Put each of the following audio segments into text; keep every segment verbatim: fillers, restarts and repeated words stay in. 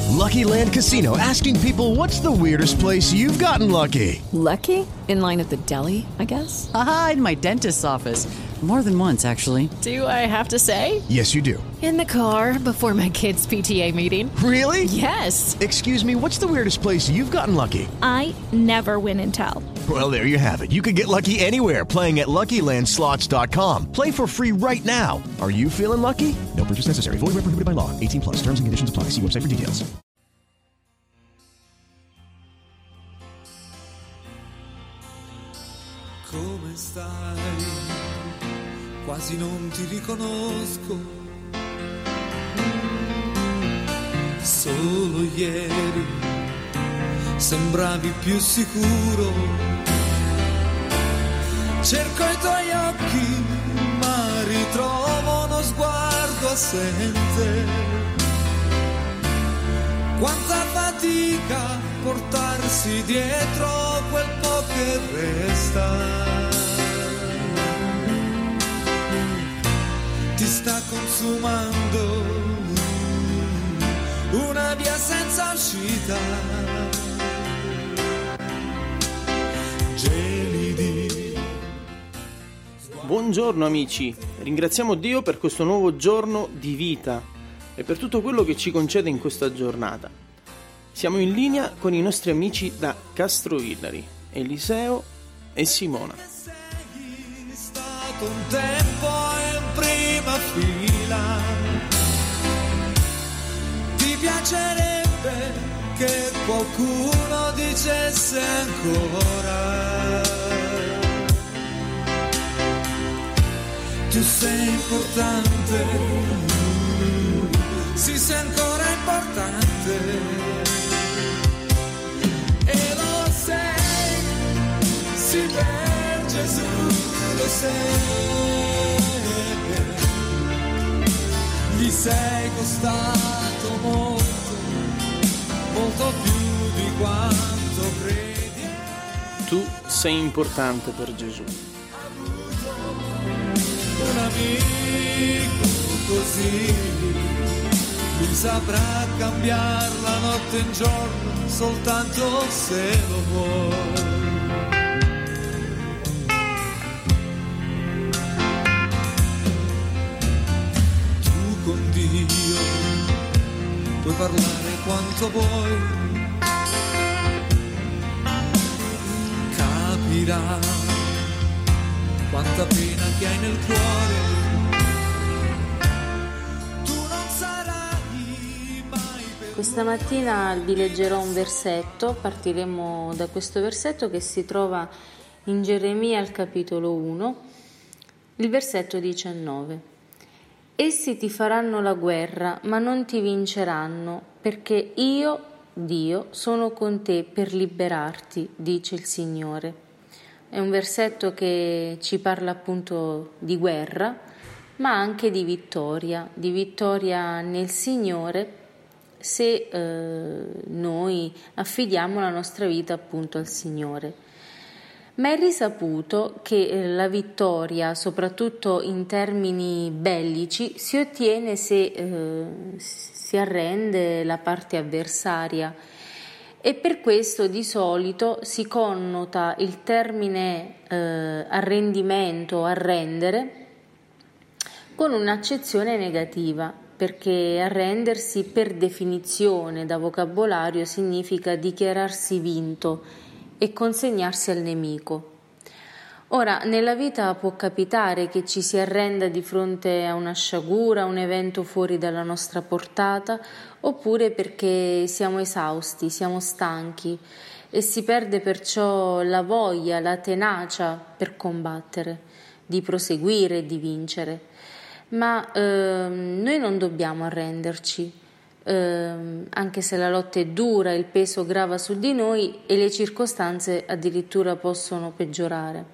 Lucky Land Casino, asking people, what's the weirdest place you've gotten lucky? Lucky? In line at the deli, I guess? Aha, in my dentist's office. More than once, actually. Do I have to say? Yes, you do. In the car before my kids' P T A meeting. Really? Yes. Excuse me, what's the weirdest place you've gotten lucky? I never win and tell. Well, there you have it. You can get lucky anywhere, playing at Lucky Land Slots dot com. Play for free right now. Are you feeling lucky? No purchase necessary. Void where prohibited by law. eighteen plus. Terms and conditions apply. See website for details. Come stai? Quasi non ti riconosco. Solo ieri sembravi più sicuro. Cerco i tuoi occhi, ma ritrovo uno sguardo assente. Quanta fatica portarsi dietro quel po' che resta. Ti sta consumando una via senza uscita. Gelidi. Buongiorno amici, ringraziamo Dio per questo nuovo giorno di vita e per tutto quello che ci concede in questa giornata. Siamo in linea con i nostri amici da Castrovillari, Eliseo e Simona. Sei stato un tempo in prima fila. Ti piacerebbe che qualcuno dicesse ancora: tu sei importante, sì, sei ancora importante. E lo sei, sì, per Gesù lo sei. Gli sei costato molto, molto più di quanto credi. Tu sei importante per Gesù. Un amico così, lui saprà cambiare la notte in giorno soltanto se lo vuoi. Tu con Dio puoi parlare quanto vuoi, capirà quanta pena che hai nel cuore. Tu non sarai mai per... Questa mattina vi leggerò un versetto, partiremo da questo versetto che si trova in Geremia al capitolo uno, il versetto diciannove. Essi ti faranno la guerra, ma non ti vinceranno, perché io, Dio, sono con te per liberarti, dice il Signore. È un versetto che ci parla appunto di guerra, ma anche di vittoria, di vittoria nel Signore se eh, noi affidiamo la nostra vita appunto al Signore. Ma è risaputo che la vittoria, soprattutto in termini bellici, si ottiene se eh, si arrende la parte avversaria. E per questo di solito si connota il termine eh, arrendimento, arrendere, con un'accezione negativa, perché arrendersi per definizione da vocabolario significa dichiararsi vinto e consegnarsi al nemico. Ora, nella vita può capitare che ci si arrenda di fronte a una sciagura, a un evento fuori dalla nostra portata, oppure perché siamo esausti, siamo stanchi e si perde perciò la voglia, la tenacia per combattere, di proseguire e di vincere. Ma ehm, noi non dobbiamo arrenderci, ehm, anche se la lotta è dura, il peso grava su di noi e le circostanze addirittura possono peggiorare.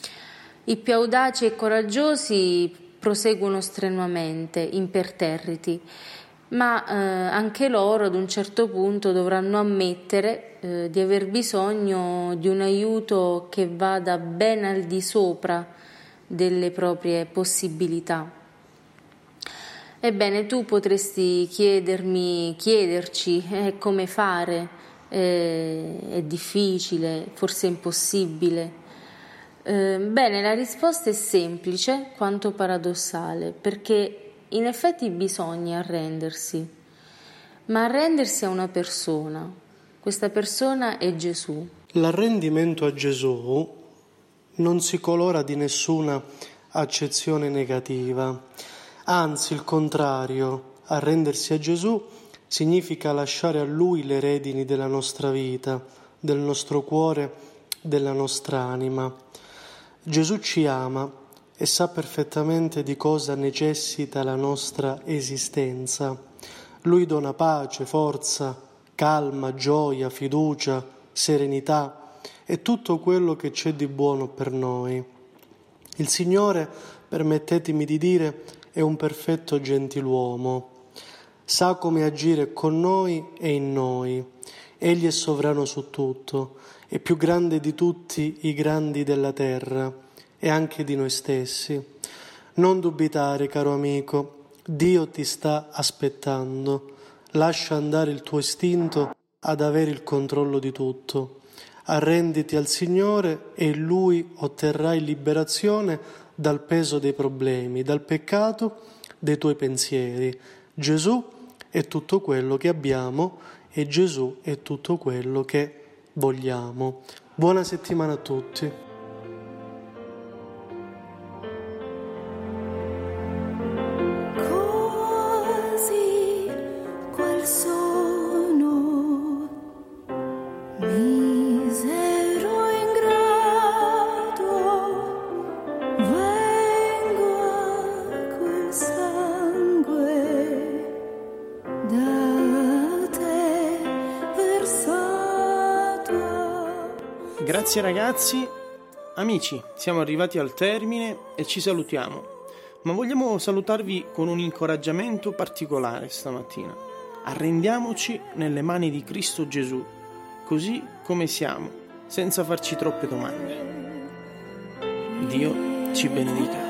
I più audaci e coraggiosi proseguono strenuamente, imperterriti, ma eh, anche loro ad un certo punto dovranno ammettere eh, di aver bisogno di un aiuto che vada ben al di sopra delle proprie possibilità. Ebbene, tu potresti chiedermi, chiederci eh, come fare, eh, è difficile, forse è impossibile. Eh, bene, la risposta è semplice quanto paradossale, perché in effetti bisogna arrendersi, ma arrendersi a una persona. Questa persona è Gesù. L'arrendimento a Gesù non si colora di nessuna accezione negativa. Anzi, il contrario, arrendersi a Gesù significa lasciare a Lui le redini della nostra vita, del nostro cuore, della nostra anima. Gesù ci ama e sa perfettamente di cosa necessita la nostra esistenza. Lui dona pace, forza, calma, gioia, fiducia, serenità e tutto quello che c'è di buono per noi. Il Signore, permettetemi di dire, è un perfetto gentiluomo, sa come agire con noi e in noi. Egli è sovrano su tutto, è più grande di tutti i grandi della terra e anche di noi stessi. Non dubitare, caro amico, Dio ti sta aspettando. Lascia andare il tuo istinto ad avere il controllo di tutto. Arrenditi al Signore e Lui otterrai liberazione dal peso dei problemi, dal peccato dei tuoi pensieri. Gesù è tutto quello che abbiamo e Gesù è tutto quello che vogliamo. Buona settimana a tutti. Così quel sono misero ingrato, vengo a quel sangue da te versato. Grazie ragazzi, amici, siamo arrivati al termine e ci salutiamo, ma vogliamo salutarvi con un incoraggiamento particolare stamattina. Arrendiamoci nelle mani di Cristo Gesù, così come siamo, senza farci troppe domande. Dio ci benedica.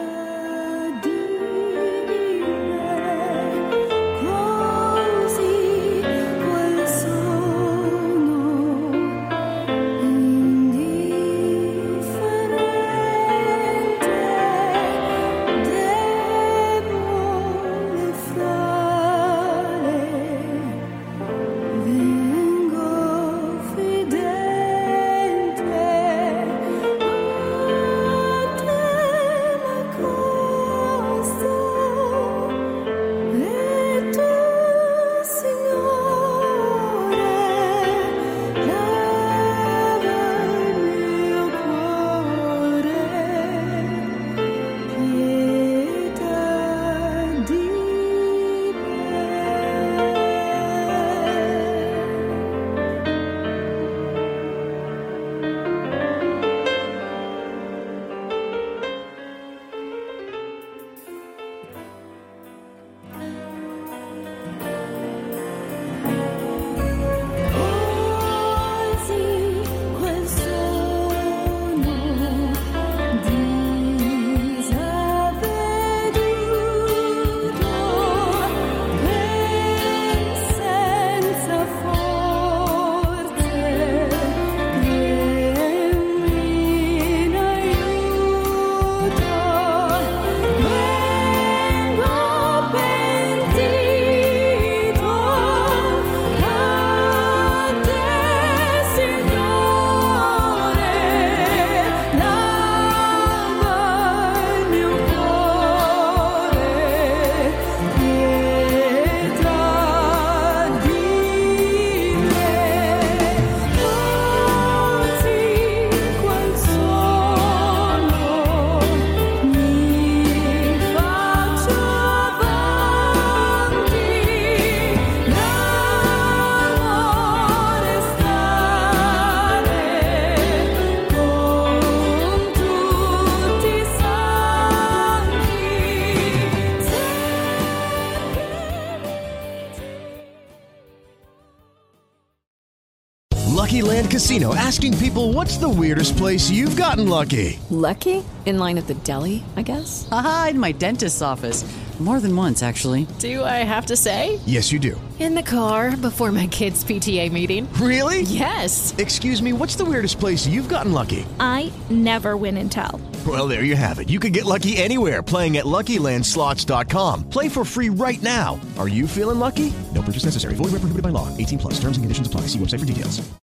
Lucky Land Casino, asking people, what's the weirdest place you've gotten lucky? Lucky? In line at the deli, I guess? Haha, in my dentist's office. More than once, actually. Do I have to say? Yes, you do. In the car before my kids' P T A meeting. Really? Yes. Excuse me, what's the weirdest place you've gotten lucky? I never win and tell. Well, there you have it. You can get lucky anywhere, playing at Lucky Land Slots dot com. Play for free right now. Are you feeling lucky? No purchase necessary. Void where prohibited by law. eighteen plus. Terms and conditions apply. See website for details.